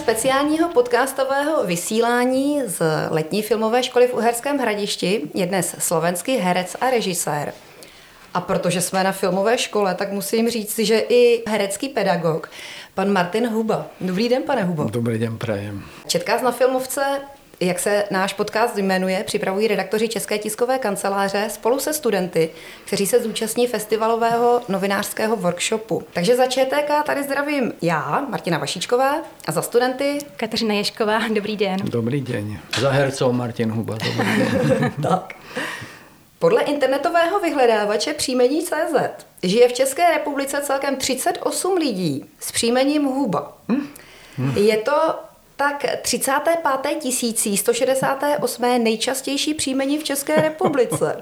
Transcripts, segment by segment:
speciálního podcastového vysílání z letní filmové školy v Uherském Hradišti je dnes slovenský herec a režisér. A protože jsme na filmové škole, tak musím říct, že i herecký pedagog, pan Martin Huba. Dobrý den, pane Hubo. Dobrý den, prajem. Četkaz na filmovce, jak se náš podcast jmenuje, připravují redaktoři České tiskové kanceláře spolu se studenty, kteří se zúčastní festivalového novinářského workshopu. Takže za ČTK tady zdravím já, Martina Vašíčková, a za studenty Kateřina Ježková. Dobrý den. Dobrý den. Za hercov Martin Huba. Dobrý den. Tak. Podle internetového vyhledávače příjmení.cz žije v České republice celkem 38 lidí s příjmením Huba. Je to tak 35. 168. nejčastější příjmení v České republice.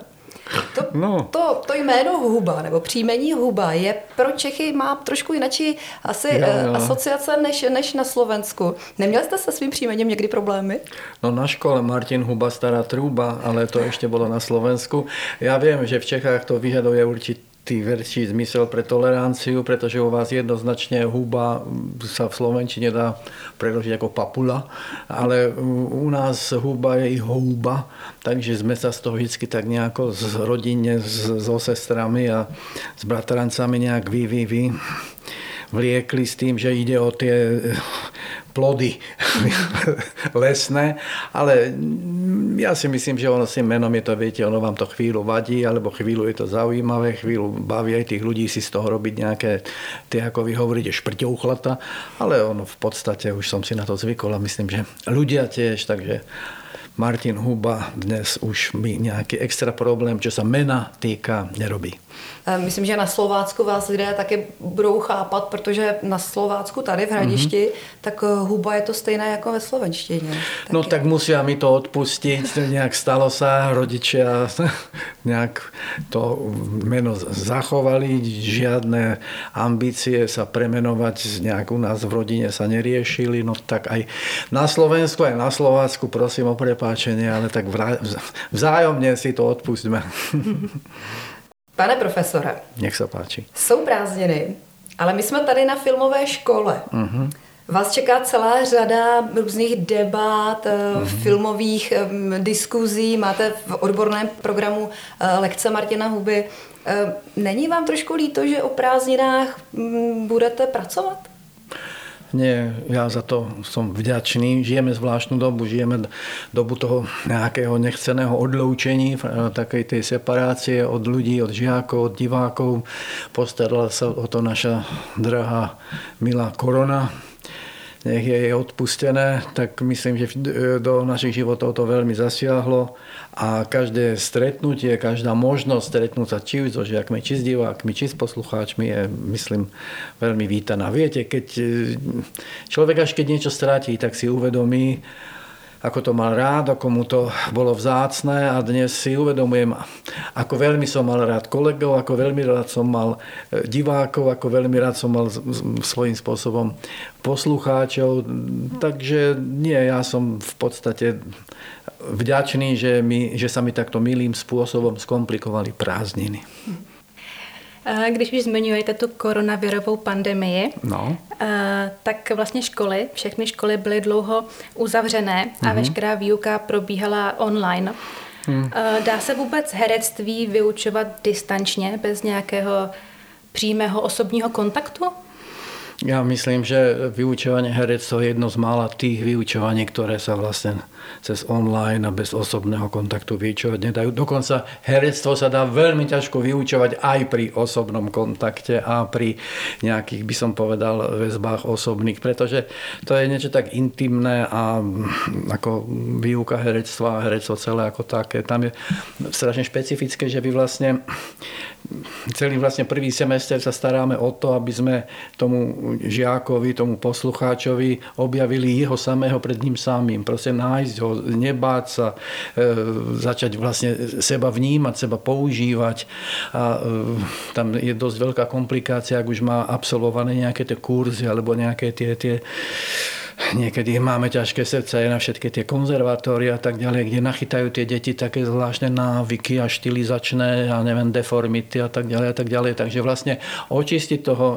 To jméno Huba nebo příjmení Huba je pro Čechy má trošku jinačí asi asociace než na Slovensku. Neměli jste se svým příjmením někdy problémy? No na škole Martin Huba, stará trúba, ale to ešte bolo na Slovensku. Ja viem, že v Čechách to vyžaduje určitý väčší zmysel pre toleranciu, pretože u vás jednoznačne huba sa v slovenčine dá preložiť ako papula, ale u nás huba je i houba, takže sme sa z toho vždycky tak nejako z rodine, so sestrami a s bratrancami nejak vliekli s tým, že ide o tie plody lesné, ale ja si myslím, že ono s tým menom je to, viete, ono vám to chvíľu vadí, alebo chvíľu je to zaujímavé, chvíľu baví aj tých ľudí si z toho robiť nejaké, tie, ako vy hovoríte, šprťouchlata, ale ono v podstate už som si na to zvykol a myslím, že ľudia tiež, takže Martin Huba dnes už mi nejaký extra problém, čo sa mena týka, nerobí. Myslím, že na Slovácku vás lidé taky budou chápat, protože na Slovácku tady v Hradišti, tak Huba je to stejné jako ve slovenštině. No tak musia mi to odpustiť, nejak stalo sa, rodičia nejak to meno zachovali, žiadne ambície sa premenovať nejak u nás v rodine sa neriešili, no tak aj na Slovensku, aj na Slovácku prosím o prepáčenie, ale tak vzájomne si to odpustíme. Pane profesore, nech sa páči. Jsou prázdniny, ale my jsme tady na filmové škole. Vás čeká celá řada různých debat, filmových diskuzí, máte v odborném programu lekce Martina Huby. Není vám trošku líto, že o prázdninách budete pracovat? Nie, ja za to som vďačný. Žijeme zvláštnu dobu, žijeme dobu toho nejakého nechceného odloučení, takej tej separácie od ľudí, od žiakov, od divákov. Postarala sa o to naša drahá milá korona. Nech je jej odpustené, tak myslím, že do našich životov to veľmi zasiahlo a každé stretnutie, každá možnosť stretnúť sa či so žiakmi, či s divákmi, či s poslucháčmi je, myslím, veľmi vítaná. Viete, keď človek až keď niečo stratí, tak si uvedomí, ako to mal rád, ako mu to bolo vzácne a dnes si uvedomujem, ako veľmi som mal rád kolegov, ako veľmi rád som mal divákov, ako veľmi rád som mal svojím spôsobom poslucháčov. Takže nie, ja som v podstate vďačný, že sa mi takto milým spôsobom skomplikovali prázdniny. Když už zmiňujete tu koronavirovou pandemii, tak vlastně všechny školy byly dlouho uzavřené a veškerá výuka probíhala online. Dá se vůbec herectví vyučovat distančně, bez nějakého přímého osobního kontaktu? Ja myslím, že vyučovanie herectva je jedno z mála tých vyučovaní, ktoré sa vlastne cez online a bez osobného kontaktu vyučovať nedajú. Dokonca herectvo sa dá veľmi ťažko vyučovať aj pri osobnom kontakte a pri nejakých, by som povedal, väzbách osobných, pretože to je niečo tak intimné a ako výuka herectva a herectvo celé ako také. Tam je strašne špecifické, že vy vlastne celý vlastne prvý semester sa staráme o to, aby sme tomu žiakovi, tomu poslucháčovi objavili jeho samého pred ním samým. Proste nájsť ho, nebáť sa, začať vlastne seba vnímať, seba používať. A tam je dosť veľká komplikácia, ak už má absolvované nejaké tie kurzy alebo nejaké tie niekedy máme ťažké srdce aj na všetky tie konzervatórie a tak ďalej, kde nachytajú tie deti také zvláštne návyky a štilizačné, ja neviem, deformity a tak ďalej a tak ďalej. Takže vlastne očistiť toho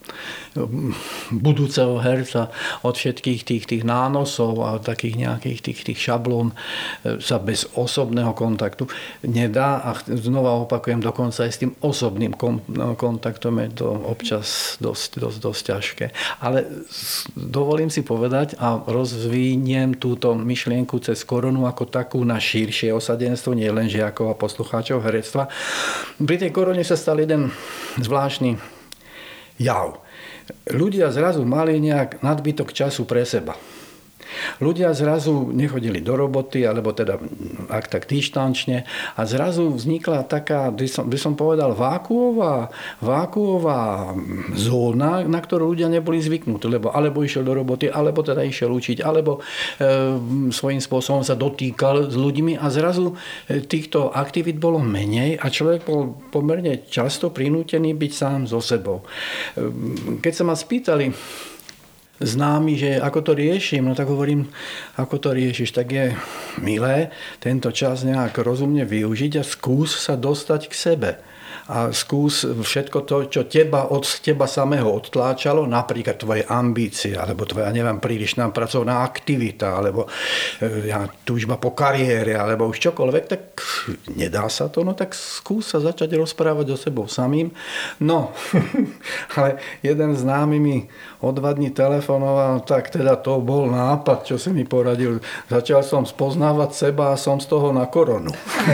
budúceho herca, od všetkých tých nánosov a takých nejakých tých šablón sa bez osobného kontaktu nedá a znova opakujem, dokonca aj s tým osobným kontaktom je to občas dosť ťažké. Ale dovolím si povedať a rozviniem túto myšlienku cez koronu ako takú na širšie osadenstvo, nie len žiakov a poslucháčov herectva. Pri tej korone sa stal jeden zvláštny jav. Ľudia zrazu mali nejak nadbytok času pre seba. Ľudia zrazu nechodili do roboty, alebo teda ak tak dištančne a zrazu vznikla taká, by som povedal, vákuová zóna, na ktorú ľudia neboli zvyknutí, alebo išiel do roboty, alebo teda išiel učiť, alebo svojím spôsobom sa dotýkal s ľuďmi a zrazu týchto aktivít bolo menej a človek bol pomerne často prinútený byť sám so sebou. Keď sa ma spýtali známy, že ako to riešim, no tak hovorím, ako to riešiš, tak je milé tento čas nejak rozumne využiť a skús sa dostať k sebe. A skús všetko to, čo od teba samého odtláčalo, napríklad tvoje ambície, alebo tvoja, prílišná pracovná aktivita, alebo túžba po kariére, alebo už čokoľvek, tak nedá sa to, no tak skús sa začať rozprávať so sebou samým. No, ale jeden známy mi o 2 dní telefonoval, tak teda to bol nápad, čo si mi poradil. Začal som spoznávať seba a som z toho na koronu.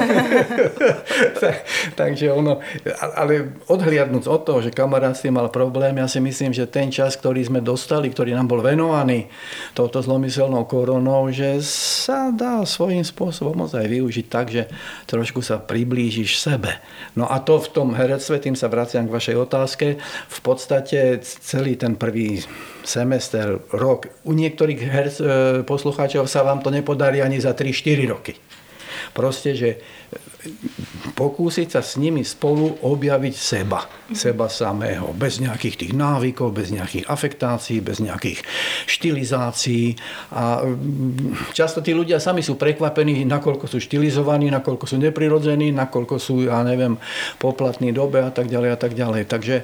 Takže ono, ale odhliadnúc od toho, že kamarát s tým mal problém, ja si myslím, že ten čas, ktorý sme dostali, ktorý nám bol venovaný touto zlomyselnou koronou, že sa dá svojím spôsobom ozaj využiť tak, že trošku sa priblížiš sebe. No a to v tom herectve, tým sa vraciam k vašej otázke, v podstate celý ten prvý semester, rok, u niektorých poslucháčov sa vám to nepodarí ani za 3-4 roky. Proste, že pokúsiť sa s nimi spolu objaviť seba samého, bez nejakých tých návykov, bez nejakých afektácií, bez nejakých štilizácií. A často tí ľudia sami sú prekvapení, nakoľko sú štilizovaní, nakoľko sú neprirodzení, nakoľko sú, poplatní dobe a tak ďalej a tak ďalej. Takže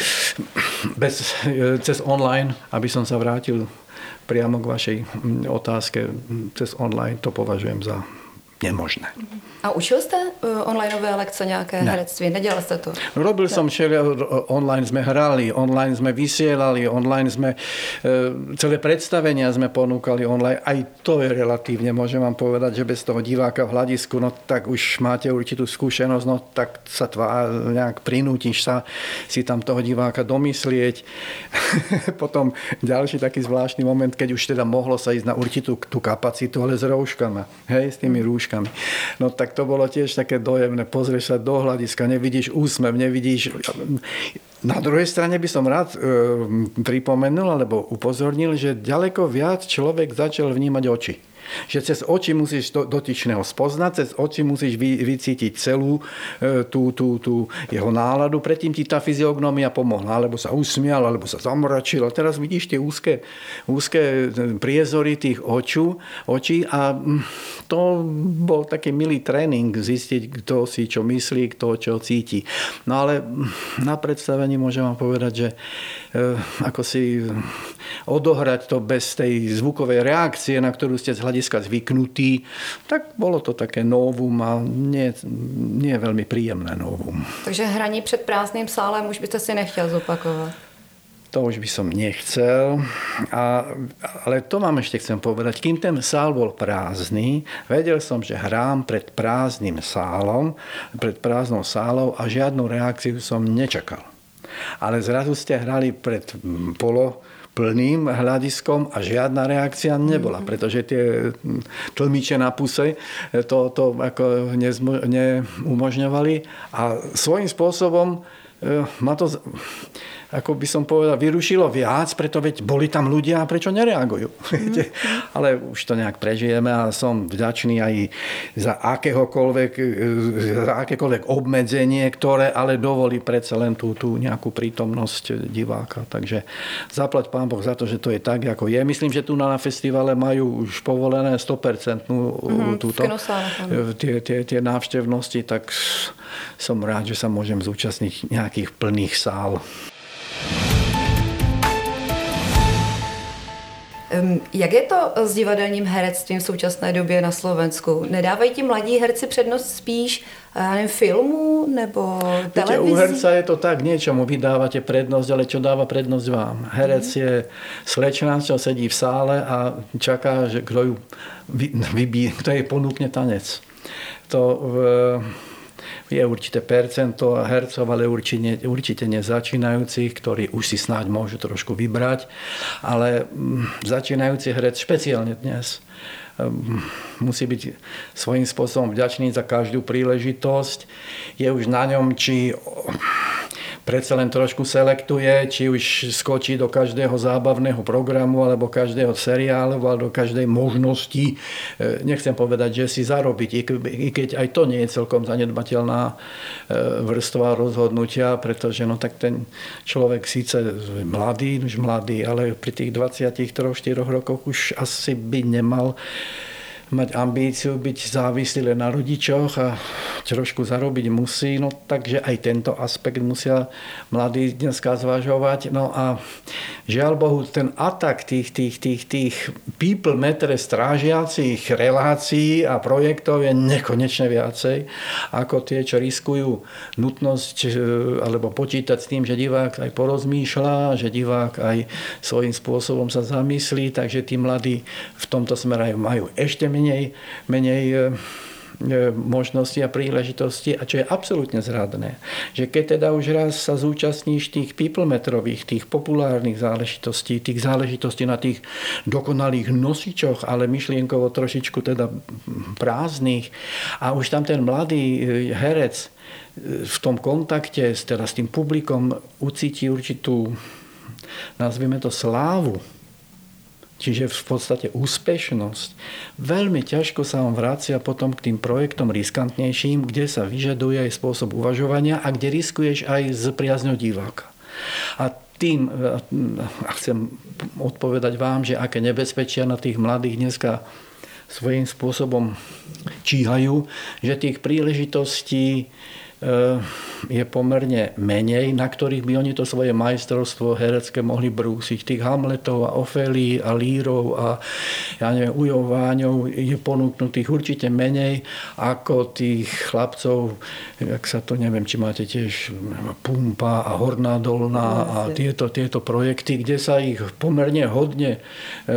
cez online, aby som sa vrátil priamo k vašej otázke, cez online to považujem za nemožné. A učil jste onlineové lekce nějaké herectví? Nedělal jste to? Robil som online sme hrali, online sme vysielali, online sme celé predstavenia sme ponúkali online. Aj to je relatívne, môžem vám povedať, že bez toho diváka v hľadisku, no tak už máte určitú skúsenosť, no tak sa nejak prinútiš sa si tam toho diváka domyslieť. Potom ďalší taký zvláštny moment, keď už teda mohlo sa ísť na určitú tú kapacitu, ale s rúškami, s tými rúškami. No tak to bolo tiež také dojemné. Pozrieš sa do hľadiska, nevidíš úsmev, nevidíš. Na druhej strane by som rád pripomenul alebo upozornil, že ďaleko viac človek začal vnímať oči. Že cez oči musíš dotyčného spoznať, cez oči musíš vycítiť celú tú jeho náladu. Predtým ti tá fyziognomia pomohla, alebo sa usmial, alebo sa zamračil. A teraz vidíš tie úzke priezory tých očí a to bol taký milý tréning zistiť, kto si čo myslí, kto čo cíti. No ale na predstavení môžem vám povedať, že ako si odohrať to bez tej zvukovej reakcie, na ktorú ste z hľadiska zvyknutí, tak bolo to také novum a nie veľmi príjemné novum. Takže hraní před prázdným sálem už byste si nechtěl zopakovat? To už by som nechcel, ale to vám ešte chcem povedať. Kým ten sál bol prázdny, vedel som, že hrám pred prázdnym sálom, pred prázdnou sálou a žiadnu reakciu som nečakal. Ale zrazu ste hrali pred plným hľadiskom a žiadna reakcia nebola, pretože tie tlmiče na puse to ako neumožňovali a svojím spôsobom ma to, ako by som povedal, vyrušilo viac, preto veď boli tam ľudia a prečo nereagujú. Ale už to nejak prežijeme a som vďačný aj za akékoľvek obmedzenie, ktoré ale dovolí predsa len tú nejakú prítomnosť diváka. Takže zaplať Pán Boh za to, že to je tak, ako je. Myslím, že tu na festivale majú už povolené 100% tie návštevnosti, tak som rád, že sa môžem zúčastniť nejakých plných sál. Jak je to s divadelním herectvím v současné době na Slovensku? Nedávají ti mladí herci přednost spíš filmu nebo televizi? U herca je to tak, niečomu vydávate prednosť, ale čo dáva prednosť vám? Herec je slečna, čo sedí v sále a čaká, že kto jej ponúkne tanec. To je určité percento hercov, ale určite nezačínajúcich, ktorí už si snáď môžu trošku vybrať, ale začínajúci herec špeciálne dnes musí byť svojím spôsobom vďačný za každú príležitosť. Je už na ňom, či predsa len trošku selektuje, či už skočí do každého zábavného programu alebo každého seriálu alebo do každej možnosti. Nechcem povedať, že si zarobiť, i keď aj to nie je celkom zanedbateľná vrstva rozhodnutia, pretože tak ten človek síce už mladý, ale pri tých 23-4 rokoch už asi by nemal mať ambíciu byť závislý len na rodičoch a trošku zarobiť musí, takže aj tento aspekt musia mladí dneska zvažovať. A žiaľ Bohu, ten atak tých people metre strážiacich relácií a projektov je nekonečne viacej ako tie, čo riskujú nutnosť alebo počítať s tým, že divák aj porozmýšľa, že divák aj svojím spôsobom sa zamyslí, takže tí mladí v tomto smere majú ešte menej možnosti a príležitosti, a čo je absolútne zradné, že keď teda už raz sa zúčastníš tých peoplemetrových, tých populárnych záležitostí, tých záležitostí na tých dokonalých nosičoch, ale myšlienkovo trošičku teda prázdnych, a už tam ten mladý herec v tom kontakte s tým publikom ucíti určitú, nazvime to, slávu, čiže v podstate úspešnosť, veľmi ťažko sa vám vracia potom k tým projektom riskantnejším, kde sa vyžaduje aj spôsob uvažovania a kde riskuješ aj s priazňou diváka. A chcem odpovedať vám, že aké nebezpečia na tých mladých dneska svojím spôsobom číhajú, že tých príležitostí je pomerne menej, na ktorých by oni to svoje majstrovstvo herecké mohli brúsiť. Tých Hamletov a Ofelií a Lírov a Ujov Váňov je ponúknutých určite menej ako tých chlapcov, jak sa to, neviem, či máte tiež Pumpa a Horná Dolná a tieto projekty, kde sa ich pomerne hodne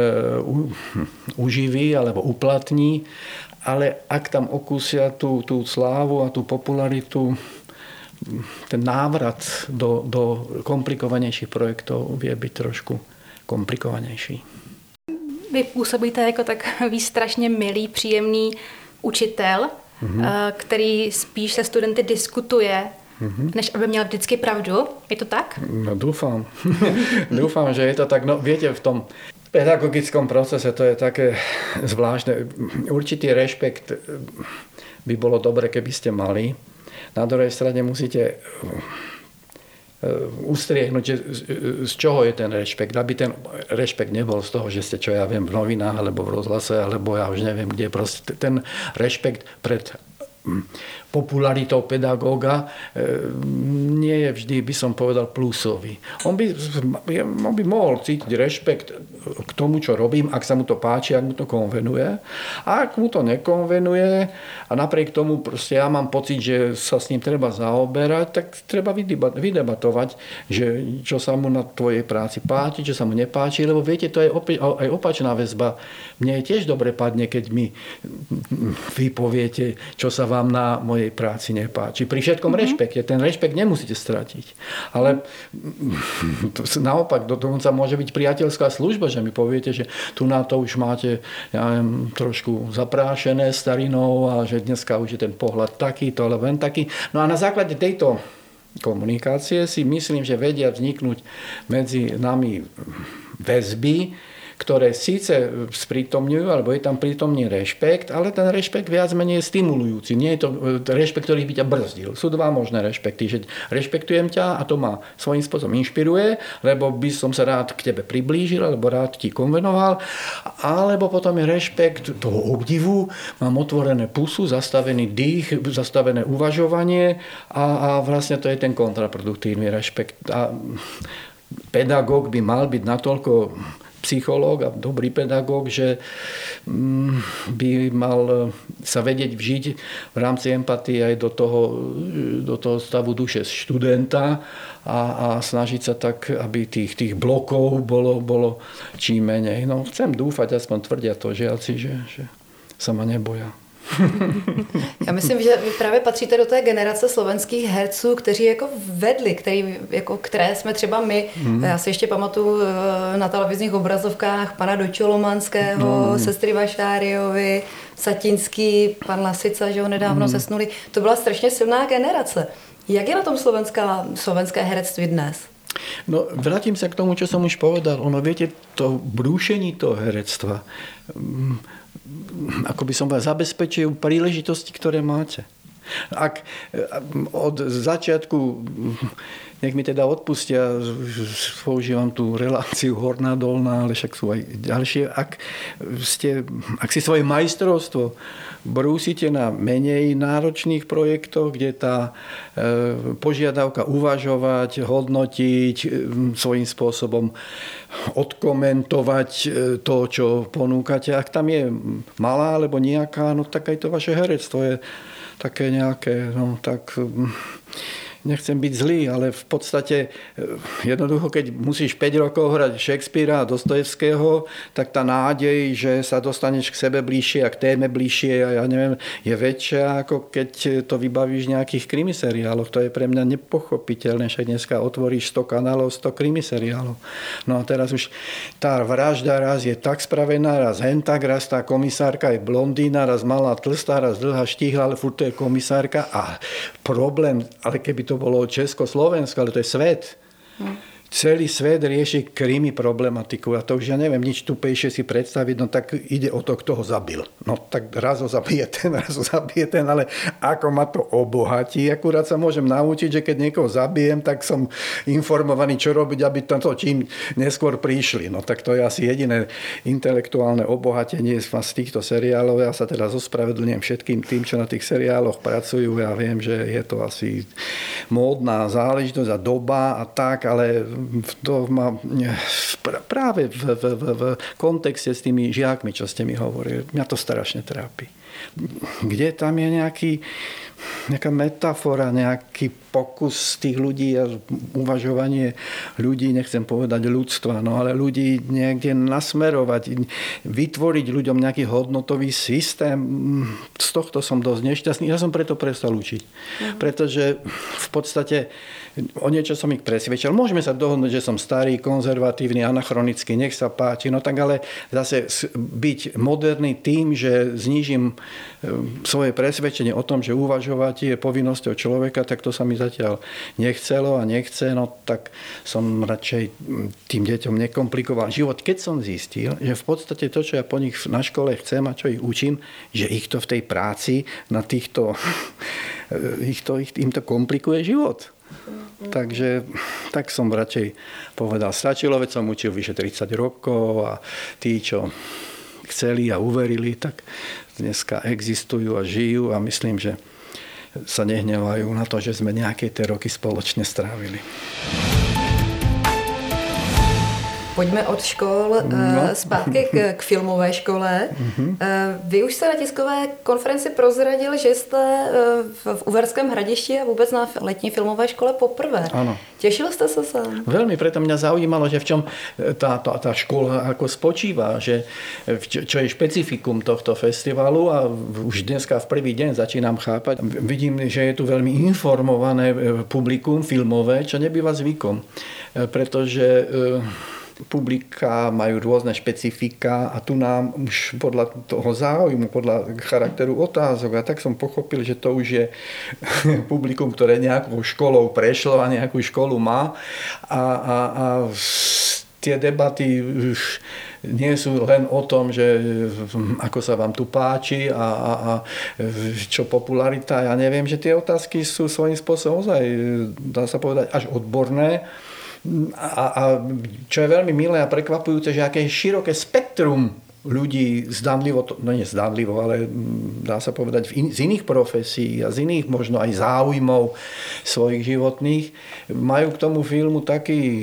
uživí alebo uplatní. Ale ak tam okúsia tú slávu a tú popularitu, ten návrat do komplikovanejších projektov vie byť trošku komplikovanejší. Vy působíte jako takový strašně milý, příjemný učitel, který spíš se studenty diskutuje, než aby měl vždycky pravdu. Je to tak? No dúfam. Dúfam, že je to tak. No viete, v tom pedagogickom procese to je také zvláštne. Určitý rešpekt by bolo dobre, keby ste mali. Na druhej strane musíte ustriehnúť, z čoho je ten rešpekt. Aby ten rešpekt nebol z toho, že ste, čo ja viem, v novinách, alebo v rozhlase, alebo ja už neviem kde. Proste ten rešpekt pred popularitou pedagóga nie je vždy, by som povedal, plusový. On by mohol cítiť rešpekt k tomu, čo robím, ak sa mu to páči, ak mu to konvenuje. A ak mu to nekonvenuje a napriek tomu proste ja mám pocit, že sa s ním treba zaoberať, tak treba vydebatovať, že čo sa mu na tvojej práci páči, čo sa mu nepáči, lebo viete, to je aj opačná väzba. Mne je tiež dobre padne, keď mi vy poviete, čo sa vám na mojej práci nepáči. Pri všetkom rešpekte. Ten rešpekt nemusíte stratiť. Ale naopak, dokonca môže byť priateľská služba, že mi poviete, že tu na to už máte, ja viem, trošku zaprášené starinou a že dneska už je ten pohľad takýto, alebo len taký. No a na základe tejto komunikácie si myslím, že vedia vzniknúť medzi nami väzby, ktoré síce sprítomňujú, alebo je tam prítomný rešpekt, ale ten rešpekt viac menej je stimulujúci. Nie je to rešpekt, ktorý by ťa brzdil. Sú dva možné rešpekty, že rešpektujem ťa a to ma svojím spôsobom inšpiruje, lebo by som sa rád k tebe priblížil, alebo rád ti konvenoval, alebo potom je rešpekt toho obdivu, mám otvorené pusu, zastavený dých, zastavené uvažovanie a vlastne to je ten kontraproduktívny rešpekt. A pedagóg by mal byť natoľko psychológ a dobrý pedagóg, že by mal sa vedieť vžiť v rámci empatie aj do toho stavu duše študenta a snažiť sa tak, aby tých blokov bolo čím menej. No, chcem dúfať, aspoň tvrdia to žiaci, že sa ma neboja. Já myslím, že vy právě patříte do té generace slovenských herců, kteří jako vedli, které jsme třeba my. Já si ještě pamatuju na televizních obrazovkách pana Dočolomanského, sestry Vašáriovi, Satinský, pan Lasica, že ho nedávno zesnuli. To byla strašně silná generace. Jak je na tom slovenské herectví dnes? No, vrátim sa k tomu, čo som už povedal. Ono, viete, to brúšení toho herectva, ako by som povedal, zabezpečujú príležitosti, ktoré máte. Ak od začiatku, nech mi teda odpustia, používam tú reláciu horná, dolná, ale však sú aj ďalšie, ak si svoje majstrovstvo brúsite na menej náročných projektoch, kde tá požiadavka uvažovať, hodnotiť, svojím spôsobom odkomentovať to, čo ponúkate. Ak tam je malá alebo nejaká, no tak aj to vaše herectvo je také nejaké, no tak nechcem byť zlý, ale v podstate jednoducho, keď musíš 5 rokov hrať Shakespearea a Dostojevského, tak tá nádej, že sa dostaneš k sebe bližšie a k téme bližšie a ja neviem, je väčšia, ako keď to vybavíš v nejakých krimiseriáloch. To je pre mňa nepochopiteľné, však dneska otvoríš 100 kanálov, 100 krimiseriálov. No a teraz už tá vražda raz je tak spravená, raz hentak, raz tá komisárka je blondína, raz malá tlstá, raz dlhá štíhla, ale furt to je komisárka a problém, ale keby to bolo Československo, ale to je svet. Celý svet rieši krimi problematiku a to už ja neviem nič tupejšie si predstaviť, no tak ide o to, kto ho zabil. No tak raz ho zabije ten, ale ako ma to obohatí. Akurát sa môžem naučiť, že keď niekoho zabijem, tak som informovaný, čo robiť, aby to čím neskôr prišli. No tak to je asi jediné intelektuálne obohatenie z týchto seriálov. Ja sa teda ospravedlňujem všetkým tým, čo na tých seriáloch pracujú. Ja viem, že je to asi módna záležitosť a doba a tak, ale to má práve v kontexte s tými žiakmi, čo ste mi hovorili. Mňa to strašne trápi. Kde tam je nejaká metafora, nejaký pokus tých ľudí a uvažovanie ľudí, nechcem povedať ľudstva, no ale ľudí niekde nasmerovať, vytvoriť ľuďom nejaký hodnotový systém. Z tohto som dosť nešťastný. Ja som preto prestal učiť. Pretože v podstate o niečo som ich presvedčil. Môžeme sa dohodnúť, že som starý, konzervatívny, anachronický, nech sa páči, no tak ale zase byť moderný tým, že znížim svoje presvedčenie o tom, že uvažovať je povinnosťou človeka, tak to sa mi zatiaľ nechcelo a nechce, no tak som radšej tým deťom nekomplikoval život. Keď som zistil, že v podstate to, čo ja po nich na škole chcem a čo ich učím, že ich to v tej práci na týchto im to komplikuje život. Takže tak som radšej povedal, stačilo, veď som učil vyše 30 rokov a tí, čo chceli a uverili, tak dneska existujú a žijú a myslím, že sa nehnevajú na to, že sme nejaké tie roky spoločne strávili. Pojďme od škol zpátky k filmové škole. Vy už jste na tiskové konferenci prozradil, že jste v Uherském Hradišti a vůbec na letní filmové škole poprvé. Áno. Těšil jste se sám? Veľmi, preto mňa zaujímalo, že v čom tá škola ako spočíva, že čo je špecifikum tohto festivalu a už dneska v prvý deň začínam chápať. Vidím, že je tu veľmi informované publikum filmové, čo nebýva zvykom. Pretože publika majú rôzne špecifika a tu nám už podľa toho záujmu, podľa charakteru otázok a tak som pochopil, že to už je publikum, ktoré nejakou školou prešlo a nejakú školu má a tie debaty už nie sú len o tom, že ako sa vám tu páči a čo popularita, ja neviem, že tie otázky sú svojím spôsobom ozaj, dá sa povedať, až odborné. A čo je veľmi milé a prekvapujúce, že aké široké spektrum ľudí zdanlivo, no nie zdanlivo, ale dá sa povedať z iných profesí a z iných možno aj záujmov svojich životných, majú k tomu filmu taký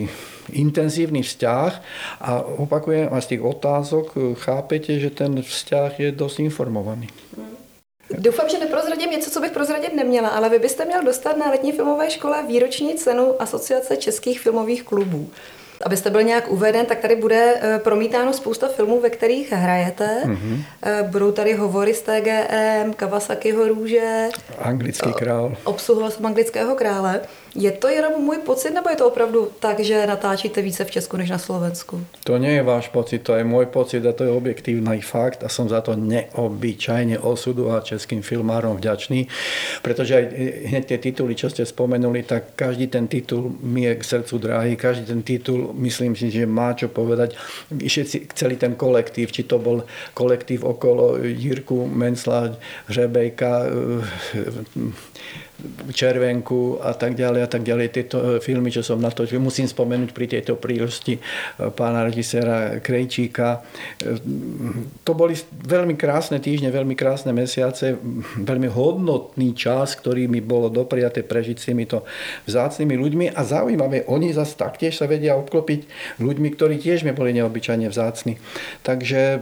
intenzívny vzťah a opakujem, a z tých otázok chápete, že ten vzťah je dosť informovaný. Doufám, že neprozradím něco, co bych prozradit neměla, ale vy byste měl dostat na letní filmové škole výroční cenu Asociace českých filmových klubů. Abyste byl nějak uveden, tak tady bude promítáno spousta filmů, ve kterých hrajete. Budou tady hovory z TGM, Kawasakiho Růže. Anglický král. Obsluhoval jsem Anglického krále. Je to jenom můj pocit, nebo je to opravdu tak, že natáčíte více v Česku než na Slovensku? To nie je váš pocit, to je môj pocit a to je objektívny fakt a som za to neobyčajne osudu a českým filmárom vďačný, pretože aj hneď tie tituly, čo ste spomenuli, tak každý ten titul mi je k srdcu drahý, každý ten titul myslím si, že má čo povedať. Všetci, celý ten kolektív, či to bol kolektív okolo Jirku Mencla, Hřebejka, Červenku a tak ďalej. Tieto filmy, čo som natočil, musím spomenúť pri tejto príležitosti pána režiséra Krejčíka. To boli veľmi krásne týždne, veľmi krásne mesiace, veľmi hodnotný čas, ktorý mi bolo dopriaté prežiť s týmito vzácnymi ľuďmi a zaujímavé, oni zase taktiež sa vedia obklopiť ľuďmi, ktorí tiež mi boli neobyčajne vzácni. Takže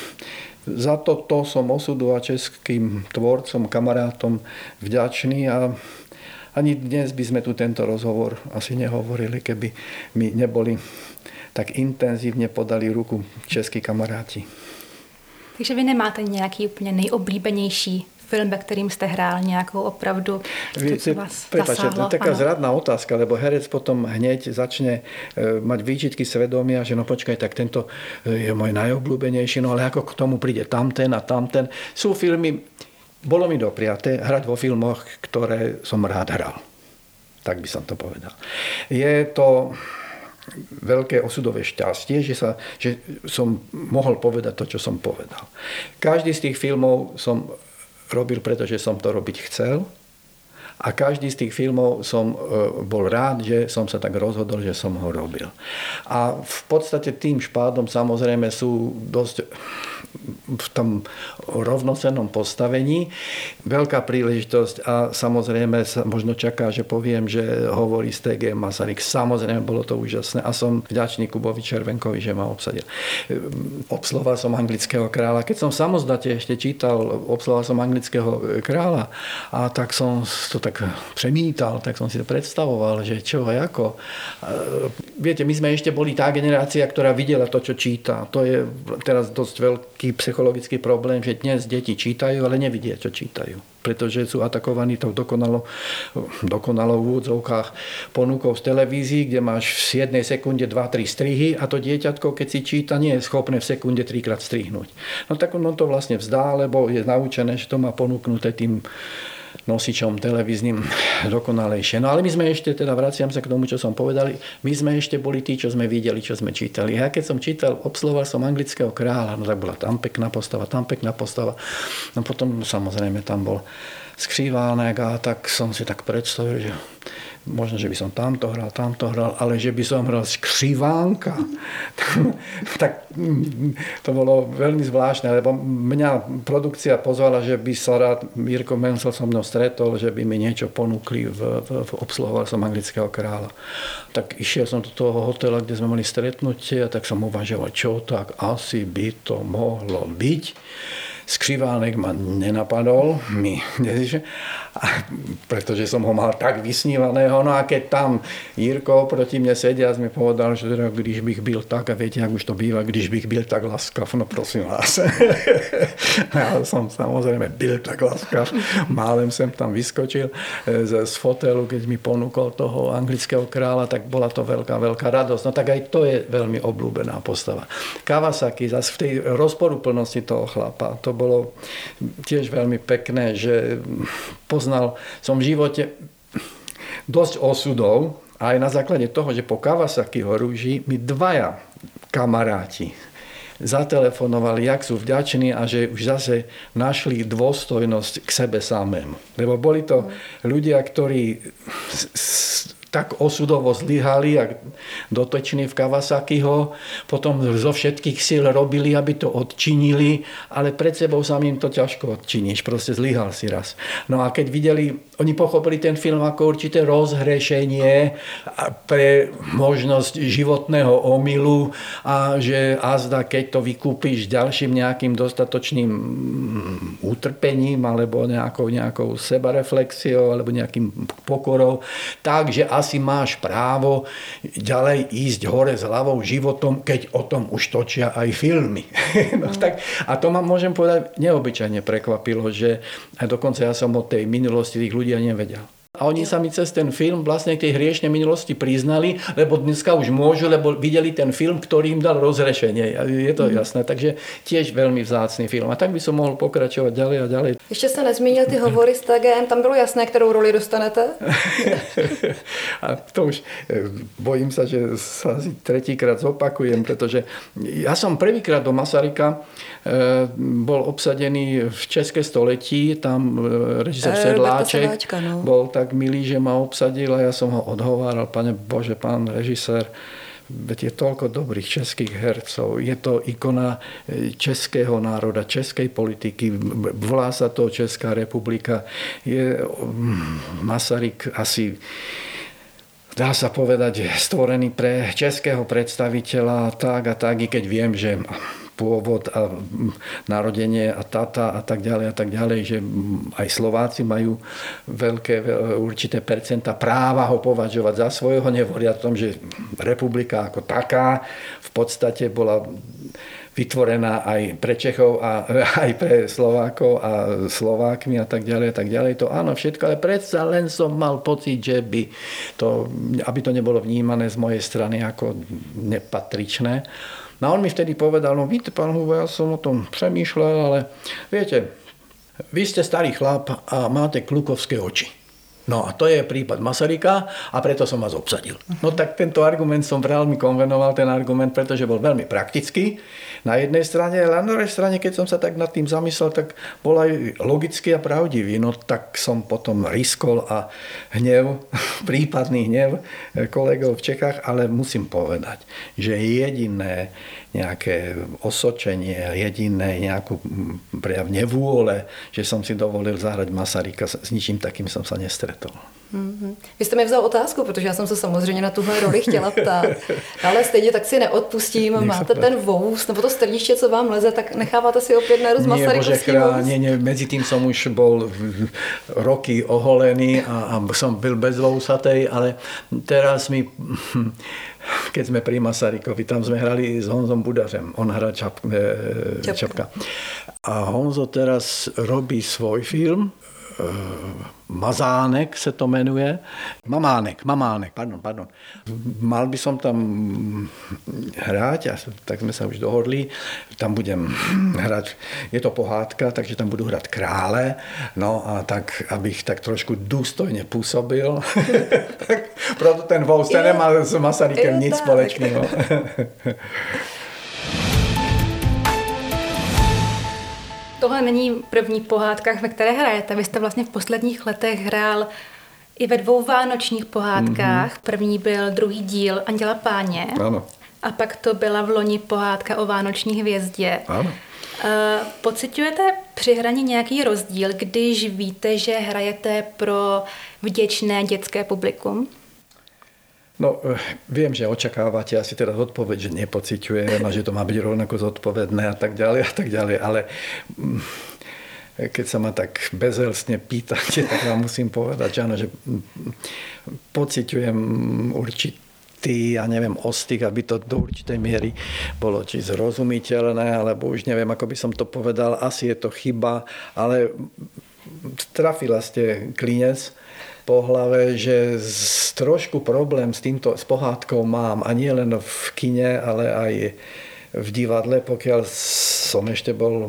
za to som osudu a českým tvorcom, kamarátom vďačný a ani dnes by sme tu tento rozhovor asi nehovorili, keby mi neboli tak intenzívne podali ruku českí kamaráti. Takže vy nemáte nějaký úplně nejoblíbenější film, ve kterým jste hrál nějakou opravdu, co vás zasáhlo? Taká zradná otázka, lebo herec potom hneď začne mať výčitky svedomia, že no počkaj, tak tento je môj najobľúbenejší, no ale ako k tomu príde tamten a tamten. Sú filmy, bolo mi dopriaté hrať vo filmoch, ktoré som rád hral. Tak by som to povedal. Je to veľké osudové šťastie, že som mohol povedať to, čo som povedal. Každý z tých filmov som robil, pretože som to robiť chcel a každý z tých filmov som bol rád, že som sa tak rozhodol, že som ho robil. A v podstate tým špádom samozrejme sú dosť v tom rovnocennom postavení. Veľká príležitosť a samozrejme sa možno čaká, že poviem, že hovorí z TG Masaryk. Samozrejme bolo to úžasné a som vďačný Kubovi Červenkovi, že ma obsadil. Obsluhoval som Anglického kráľa. Keď som samostatne ešte čítal, obsluhoval som Anglického kráľa a tak som to tak přemítal, tak som si to predstavoval, že čo a ako. Viete, my sme ešte boli tá generácia, ktorá videla to, čo číta. To je teraz dosť veľký psychologický problém, že dnes deti čítajú, ale nevidia, čo čítajú. Pretože sú atakovaní tou dokonalou v úvodzovkách ponukou z televízií, kde máš v jednej sekunde 2-3 strihy a to dieťatko, keď si číta, nie je schopné v sekunde 3-krát strihnúť. No tak on to vlastne vzdá, lebo je naučené, že to má ponúknuté tým nosičom televíznym dokonalejšie. No ale my sme ešte, teda vraciam sa k tomu, čo som povedal, my sme ešte boli tí, čo sme videli, čo sme čítali. Ja keď som čítal, obsluhoval som Anglického kráľa, no tak bola tam pekná postava. No potom samozrejme tam bol Skřivánek a tak som si tak predstavil, že možno, že by som tamto hral, ale že by som hral Skřivánka. Tak to bolo veľmi zvláštne, lebo mňa produkcia pozvala, že by sa rád Jirko Mencel so mnou stretol, že by mi niečo ponúkli v obsluhoval som Anglického kráľa. Tak išiel som do toho hotela, kde sme mali stretnutie a tak som uvažoval, čo tak asi by to mohlo byť. Skřivánek ma nenapadol, pretože som ho mal tak vysnívaného. No a keď tam Jirko proti mne sedia, mi povedal, že teda, když bych byl tak, a viete, jak už to býva, když bych byl tak laskav, no prosím vás. Ja som samozrejme byl tak laskav. Málem sem tam vyskočil z fotelu, keď mi ponúkol toho Anglického kráľa, tak bola to veľká radosť. No tak aj to je veľmi obľúbená postava. Kawasaki, zase v tej rozporuplnosti toho chlapa, to bolo tiež veľmi pekné, že poznal som v živote dosť osudov a aj na základe toho, že po Kawasakiho Rúži mi dvaja kamaráti zatelefonovali, jak sú vďační a že už zase našli dôstojnosť k sebe samému. Lebo boli to ľudia, ktorí tak osudovo zlyhali, jak dotoční v Kawasakiho, potom zo všetkých síl robili, aby to odčinili, ale pred sebou samým to ťažko odčiníš, proste zlyhal si raz. No a keď videli, oni pochopili ten film ako určité rozhrešenie pre možnosť životného omylu a že azda, keď to vykúpiš ďalším nejakým dostatočným utrpením alebo nejakou sebareflexiou alebo nejakým pokorou, takže asi máš právo ďalej ísť hore s hlavou životom, keď o tom už točia aj filmy. No, tak, a to ma môžem povedať neobyčajne prekvapilo, že aj dokonca ja som o tej minulosti tých ľudí ani nevedel. A oni sa mi cez ten film vlastne k tej hriešnej minulosti priznali, lebo dneska už môžu, lebo videli ten film, ktorý im dal rozrešenie. Je to jasné, takže tiež veľmi vzácný film. A tak by som mohol pokračovať ďalej a ďalej. Ještě jste nezmínil ty hovory s TGM, tam bylo jasné, kterou roli dostanete? A to už bojím sa, že sa asi tretíkrát zopakujem, pretože ja som prvýkrát do Masaryka bol obsadený v České století, tam režisér Sedláček bol tak milý, že ma obsadil a ja som ho odhováral, pane Bože, pán režisér, veď je toľko dobrých českých hercov, je to ikona českého národa, českej politiky, volá sa to Česká republika, je Masaryk asi, dá sa povedať, stvorený pre českého predstaviteľa tak a tak, i keď viem, že pôvod a narodenie a tata a tak ďalej, že aj Slováci majú veľké určité percenta práva ho považovať za svojho, nehovoria o tom, že republika ako taká v podstate bola vytvorená aj pre Čechov a aj pre Slovákov a Slovákmi a tak ďalej. To áno, všetko, ale predsa len som mal pocit, že aby to nebolo vnímané z mojej strany ako nepatričné. No a on mi vtedy povedal, no víte, pán Hubo, ja som o tom přemýšľal, ale viete, vy ste starý chlap a máte klukovské oči. No a to je prípad Masaryka a preto som vás obsadil. No tak tento argument som veľmi konvenoval, ten argument, pretože bol veľmi praktický na jednej strane, ale na druhej strane, keď som sa tak nad tým zamyslel, tak bol aj logický a pravdivý. No tak som potom riskol a prípadný hnev kolegov v Čechách, ale musím povedať, že jediné nejaké osočenie, jediné nejakú prejav nevôle, že som si dovolil zahrať Masaryka, s ničím takým som sa nestretol. Vy jste mi vzal otázku, protože já jsem se samozřejmě na tuhle roli chtěla ptát, ale stejně tak si neodpustím, máte ten vous, nebo to strniště, co vám leze, tak necháváte si opět nerozť Masarykovský vous? Nie, medzi tým som už bol roky oholený a som byl bez vousatej, ale teraz keď sme pri Masarykovi, tam sme hrali s Honzom Budařem, on hrá Čapka. A Honzo teraz robí svoj film, Mazánek se to jmenuje. Mamánek, pardon. Mal by som tam hrať, tak sme sa už dohodli. Tam budem hrať, je to pohádka, takže tam budu hrať krále. No a tak, abych tak trošku důstojne působil. Proto ten Vous, ten nemá s Masarykem nic společného. Tohle není první pohádka, ve které hrajete. Vy jste vlastně v posledních letech hrál i ve 2 vánočních pohádkách. První byl druhý díl Anděla Páně. Ano. A pak to byla v loni pohádka o vánoční hvězdě. Ano. Pociťujete při hraní nějaký rozdíl, když víte, že hrajete pro vděčné dětské publikum? No, viem, že očakávate asi teraz odpoveď, že nepociťujem a že to má byť rovnako zodpovedné a tak ďalej, ale keď sa ma tak bezelstne pýtate, tak vám musím povedať, že áno, že pociťujem určitý, ja neviem, ostych, aby to do určitej miery bolo či zrozumiteľné, alebo už neviem, ako by som to povedal, asi je to chyba, ale trafila ste klinec po hlave, že trošku problém s pohádkou mám a nie len v kine, ale aj v divadle, pokiaľ som ešte bol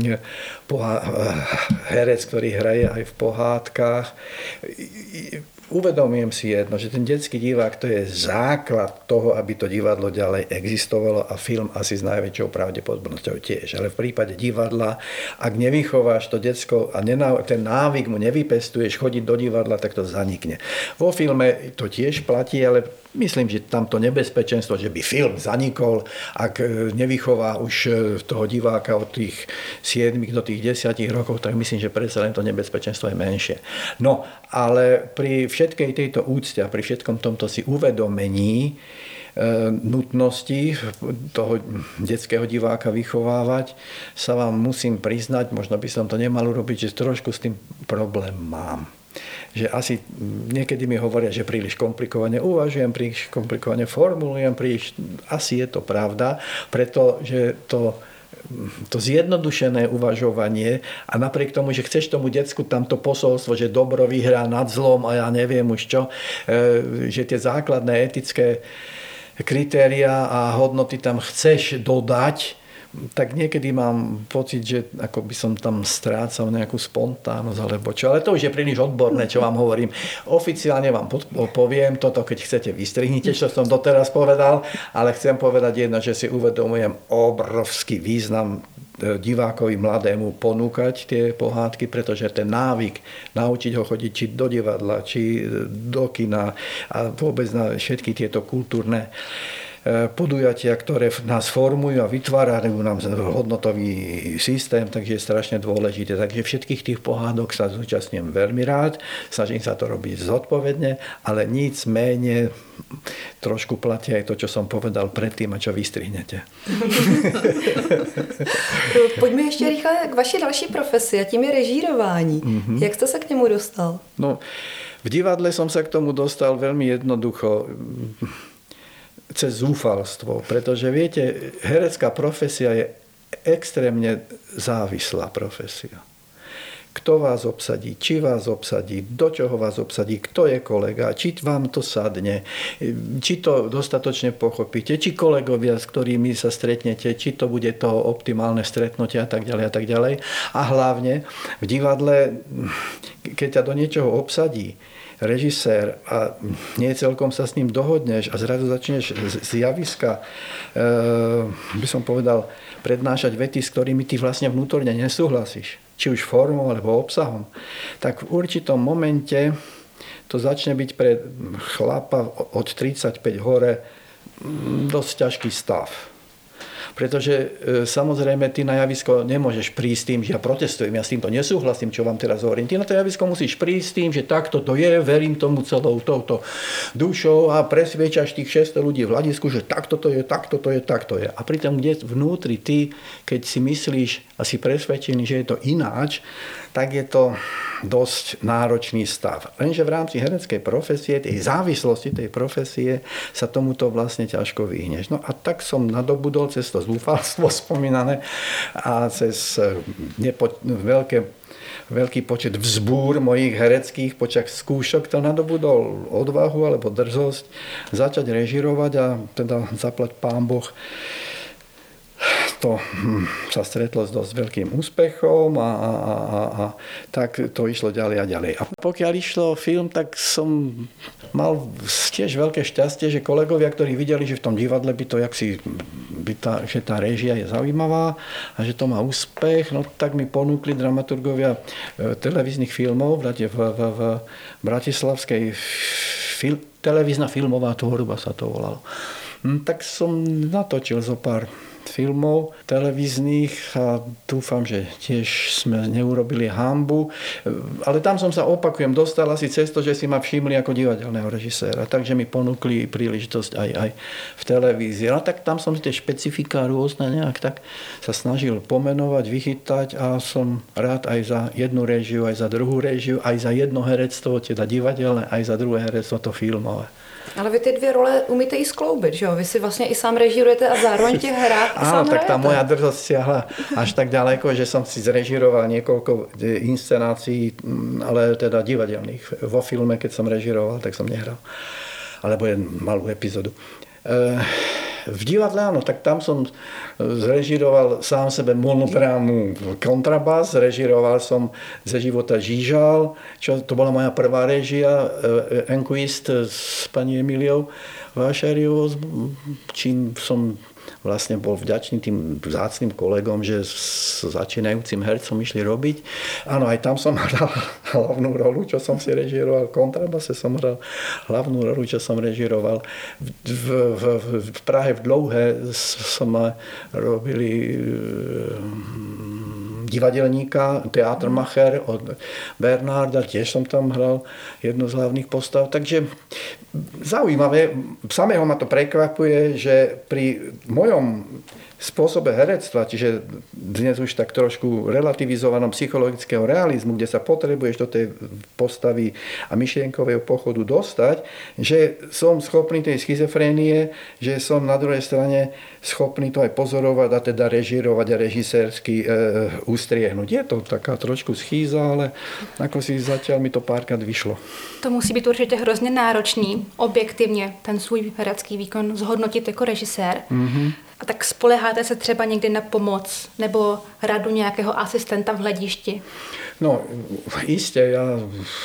herec, ktorý hraje aj v pohádkach. Uvedomujem si jedno, že ten detský divák to je základ toho, aby to divadlo ďalej existovalo a film asi s najväčšou pravdepodobnosťou tiež. Ale v prípade divadla, ak nevychováš to decko a ten návyk mu nevypestuješ chodiť do divadla, tak to zanikne. Vo filme to tiež platí, ale myslím, že tamto nebezpečenstvo, že by film zanikol, ak nevychová už toho diváka od tých 7 do tých 10 rokov, tak myslím, že predsa len to nebezpečenstvo je menšie. No, ale pri všetkej tejto úcte a pri všetkom tomto si uvedomení nutnosti toho detského diváka vychovávať, sa vám musím priznať, možno by som to nemal urobiť, že trošku s tým problém mám. Že asi niekedy mi hovoria, že príliš komplikovane uvažujem, príliš komplikovane formulujem, asi je to pravda, pretože to zjednodušené uvažovanie a napriek tomu, že chceš tomu decku tamto posolstvo, že dobro vyhrá nad zlom a ja neviem už čo, že tie základné etické kritériá a hodnoty tam chceš dodať, tak niekedy mám pocit, že ako by som tam strácal nejakú spontánnosť alebo čo. Ale to už je príliš odborné, čo vám hovorím. Oficiálne vám poviem toto, keď chcete, vystrihnite, čo som doteraz povedal, ale chcem povedať jedno, že si uvedomujem obrovský význam divákovi mladému ponúkať tie pohádky, pretože ten návyk naučiť ho chodiť či do divadla, či do kina a vôbec na všetky tieto kultúrne podujatia, ktoré nás formujú a vytvárajú nám hodnotový systém, takže je strašne dôležité. Takže všetkých tých pohádok sa zúčastňujem veľmi rád, snažím sa to robiť zodpovedne, ale nic menej trošku platí aj to, čo som povedal predtým a čo vystrihnete. Pojďme ještě rychle k vaší další profesi a tím je režírování. Jak jste se k němu dostal? No, v divadle som sa k tomu dostal veľmi jednoducho cez zúfalstvo, pretože viete, herecká profesia je extrémne závislá profesia. Kto vás obsadí, či vás obsadí, do čoho vás obsadí, kto je kolega, či vám to sadne, či to dostatočne pochopíte, či kolegovia, s ktorými sa stretnete, či to bude to optimálne stretnutie a tak ďalej a tak ďalej. A hlavne v divadle, keď ťa do niečoho obsadí režisér a nie celkom sa s ním dohodneš a zrazu začneš z javiska, by som povedal, prednášať vety, s ktorými ty vlastne vnútorne nesúhlasíš, či už formou alebo obsahom, tak v určitom momente to začne byť pre chlapa od 35 hore dosť ťažký stav. Pretože samozrejme ty na javisko nemôžeš prísť tým, že ja protestujem, ja s týmto nesúhlasím, čo vám teraz hovorím. Ty na to javisko musíš prísť tým, že takto to je, verím tomu celou touto dušou a presviečaš tých 600 ľudí v hľadisku, že takto to je, takto to je, takto je. A pritom kde vnútri ty, keď si myslíš a si presvedčený, že je to ináč, tak je to dosť náročný stav. Lenže v rámci hereckej profesie, tej závislosti tej profesie sa tomuto vlastne ťažko vyhneš. No a tak som nadobudol cez to zúfalstvo spomínané a cez veľký počet vzbúr mojich hereckých počas skúšok to nadobudol odvahu alebo drzosť začať režirovať a teda zaplať Pán Boh. To sa stretlo s dosť veľkým úspechom a tak to išlo ďalej a ďalej. A pokiaľ išlo film, tak som mal tiež veľké šťastie, že kolegovia, ktorí videli, že v tom divadle by to že tá réžia je zaujímavá a že to má úspech, no tak mi ponúkli dramaturgovia televíznych filmov v bratislavskej televízna filmová tvorba sa to volalo. Tak som natočil zo pár filmov televíznych a dúfam, že tiež sme neurobili hanbu. Ale tam som sa, opakujem, dostal asi cez to, že si ma všimli ako divadelného režiséra. Takže mi ponúkli príležitosť aj v televízii. No tak tam som tie špecifika rôzne nejak tak sa snažil pomenovať, vychytať a som rád aj za jednu réžiu, aj za druhú réžiu, aj za jedno herectvo, teda divadelné, aj za druhé herectvo to filmové. Ale vy ty dvě role umíte i skloubit, že jo? Vy si vlastně i sám režírujete a zároveň těch hrách i sám tak tá moja drzosť siahla až tak ďaleko, že som si zrežíroval niekoľko inscenácií, ale teda divadelných. Vo filme, keď som režíroval, tak som nehral. Alebo jen malú epizódu. v divadle áno, tak tam som zrežiroval sám sebe monodrámu Kontrabas, režiroval som Ze života Žížal, čo to bola moja prvá režia, Enquist s pani Emiliou Vášariovou, čím som vlastne bol vďačný tým vzácnym kolegom, že s začínajúcim hercom išli robiť. Áno, aj tam som hral hlavnú rolu, čo som si režiroval. V Kontrabase som hral hlavnú rolu, čo som režiroval. V Prahe v Dlouhé sme robili divadelníka, teatrmacher od Bernarda, tiež som tam hral jednu z hlavných postav. Takže zaujímavé, samého ma to prekvapuje, že pri mojom spôsobe herectva, čiže dnes už tak trošku relativizovanom psychologického realizmu, kde sa potrebuješ do tej postavy a myšlienkového pochodu dostať, že som schopný tej schizofrénie, že som na druhej strane schopný to aj pozorovať a teda režírovať a režisérsky ustriehnúť. Je to taká trošku schýza, ale ako si zatiaľ mi to párkrát vyšlo. To musí být určitě hrozně náročný, objektivně ten svůj herecký výkon zhodnotit jako režisér. A tak spoléháte se třeba někdy na pomoc nebo radu nějakého asistenta v hledišti? No, iste, ja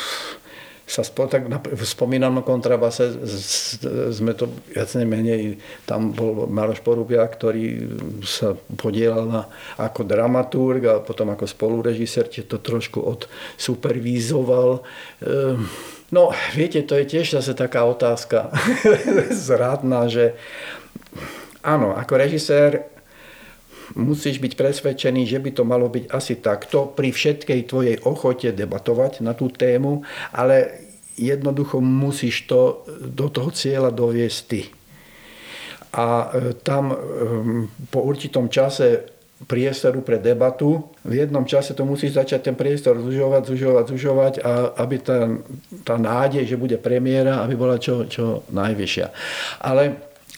sa tak spomínam na Kontrabase, sme to viac nemenej, tam bol Maroš Porubia, ktorý sa podielal ako dramaturg a potom ako spolurežisér, to trošku odsupervízoval. No, viete, to je tiež zase taká otázka zradná, že áno, ako režisér musíš byť presvedčený, že by to malo byť asi takto pri všetkej tvojej ochote debatovať na tú tému, ale jednoducho musíš to do toho cieľa doviesť ty. A tam po určitom čase priestoru pre debatu, v jednom čase to musíš začať ten priestor zužovať a aby tá nádej, že bude premiéra, aby bola čo najvyššia. Ale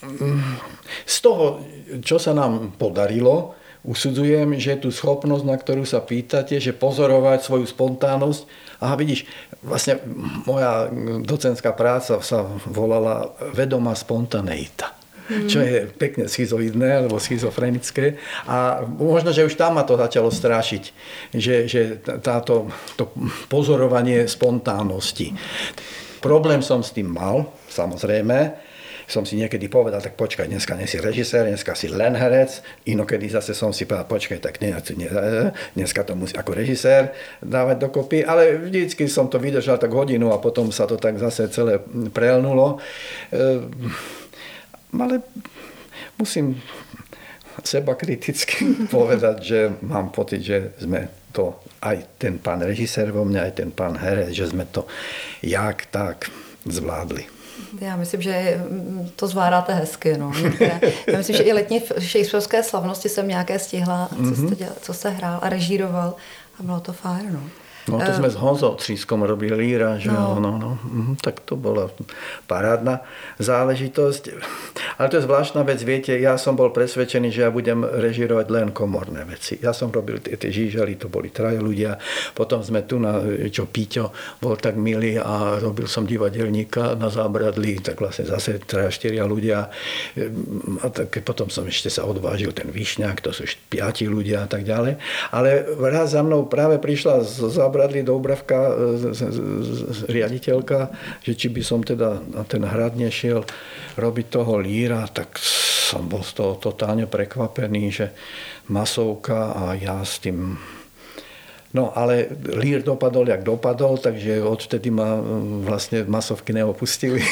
z toho, čo sa nám podarilo, usudzujem, že tú schopnosť, na ktorú sa pýtate, že pozorovať svoju spontánnosť. Aha, vidíš, vlastne moja docentská práca sa volala vedomá spontaneita. Čo je pekne schizoidné alebo schizofrenické. A možno, že už tam ma to začalo strašiť, že to pozorovanie spontánnosti. Problém som s tým mal, samozrejme. Som si niekedy povedal, tak počkaj, dneska nie si režisér, dneska si len herec, inokedy zase som si povedal, počkaj, tak dneska to musí ako režisér dávať dokopy, ale vždycky som to vydržal tak hodinu a potom sa to tak zase celé prelnulo. Ale musím seba kriticky povedať, že mám pocit, že sme to, aj ten pán režisér vo mne, aj ten pán herec, že sme to jak tak zvládli. Já myslím, že to zvládáte hezky. No. Já myslím, že i letní shakespearské slavnosti jsem nějaké stihla, co jste hrál a režíroval a bylo to fajn. No. No to sme s Honzou Třískom robili Líra, že no. Tak to bola parádna záležitosť. Ale to je zvláštna vec, viete, ja som bol presvedčený, že ja budem režírovať len komorné veci. Ja som robil tie Žížaly, to boli traja ľudia, potom sme tu čo Píťo bol tak milý a robil som divadelníka na Zábradlí, tak vlastne zase 3-4 ľudia. A tak potom som ešte sa odvážil ten Višňák, to sú 5 ľudia a tak ďalej. Ale raz za mnou práve prišla z Zábradlí Doubravka, riaditeľka, že či by som teda na ten hrad nešiel robiť toho Líra, tak som bol z toho totálne prekvapený, že masovka a ja s tým... No ale Lír dopadol, jak dopadol, takže odtedy ma vlastne masovky neopustili.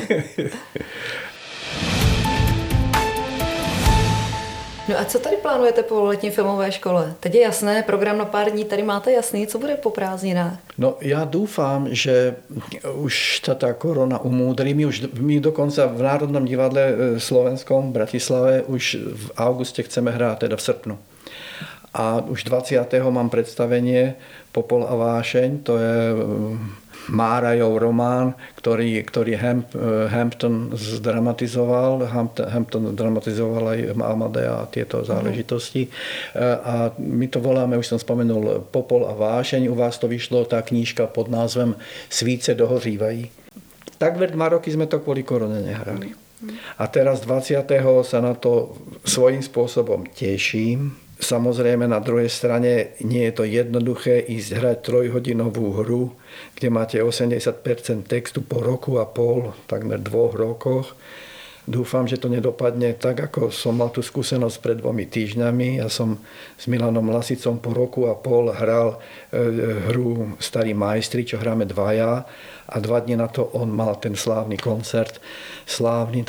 No a co tady plánujete po letní filmové škole? Teď je jasné, program na pár dní tady máte jasný, co bude po prázdninách? No ja dúfam, že už tá korona umúdri. My dokonca v Národnom divadle slovenskom v Bratislave už v auguste chceme hrať, teda v srpnu. A už 20. mám predstavenie Popol a vášeň, to je Márajov román, ktorý Hampton zdramatizoval. Hampton dramatizoval aj Amadea a tieto záležitosti. A my to voláme, už som spomenul, Popol a vášeň. U vás to vyšlo tá knížka pod názvem Svíce dohořívají. Takmer 2 roky sme to kvôli korone nehrali. A teraz 20. sa na to svojím spôsobom teším. Samozrejme na druhej strane nie je to jednoduché ísť hrať 3-hodinovú hru, kde máte 80% textu po roku a pol, takmer 2 rokoch. Dúfam, že to nedopadne tak, ako som mal tú skúsenosť pred 2 týždňami. Ja som s Milanom Lasicom po roku a pol hral hru Starí majstri, čo hráme dvaja. A 2 dni na to on mal ten slávny koncert. Slávny,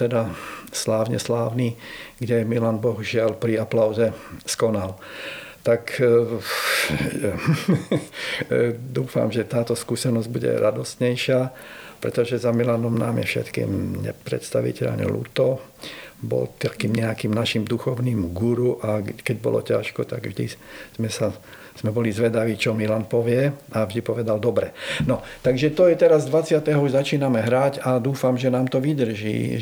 kde Milan bohužiaľ pri aplauze skonal. Tak dúfam, že táto skúsenosť bude radostnejšia, pretože za Milanom nám je všetkým nepredstaviteľne ľúto. Bol takým nejakým našim duchovným guru a keď bolo ťažko, tak vždy sme boli zvedaví, čo Milan povie a vždy povedal dobre. No, takže to je teraz 20. už začíname hrať a dúfam, že nám to vydrží,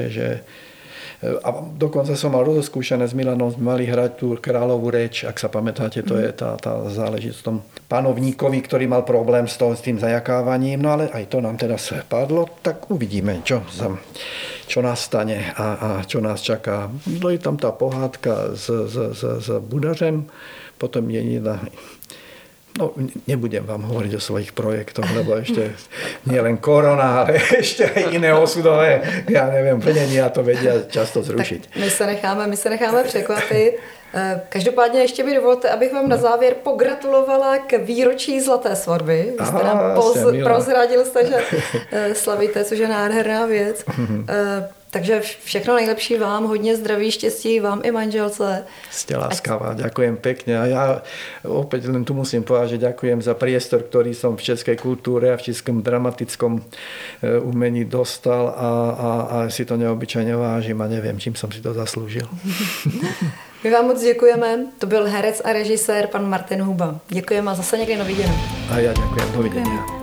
a dokonca som mal rozoskúšané s Milanom, sme mali hrať tú kráľovú reč, ak sa pamätáte, to je tá záležitosť v tom panovníkovi, ktorý mal problém s tým zajakávaním, no ale aj to nám teraz padlo, tak uvidíme, čo nás stane a čo nás čaká. No je tam tá pohádka s Budařem, potom je jedna. No, nebudem vám hovoriť o svojich projektoch, lebo ešte nie len korona, ale ešte aj iné osudové, ja neviem, plnenia to vedia často zrušiť. Tak my se necháme překvapit. Každopádně ještě mi dovolte, abych vám na závěr pogratulovala k výročí Zlaté svatby. Vy jste nám prozradil, že slavíte, což je nádherná věc. Takže všechno nejlepší vám, hodně zdraví, štěstí vám i manželce. Ste láskavá, ďakujem pekne. A ja opäť len tu musím povedať, že ďakujem za priestor, ktorý som v českej kultúre a v českom dramatickom umení dostal a si to neobyčajne vážim a neviem, čím som si to zaslúžil. My vám moc děkujeme. To byl herec a režisér pan Martin Huba. Děkujeme a zase někdy na viděnou. A ja ďakujem, dovidenia.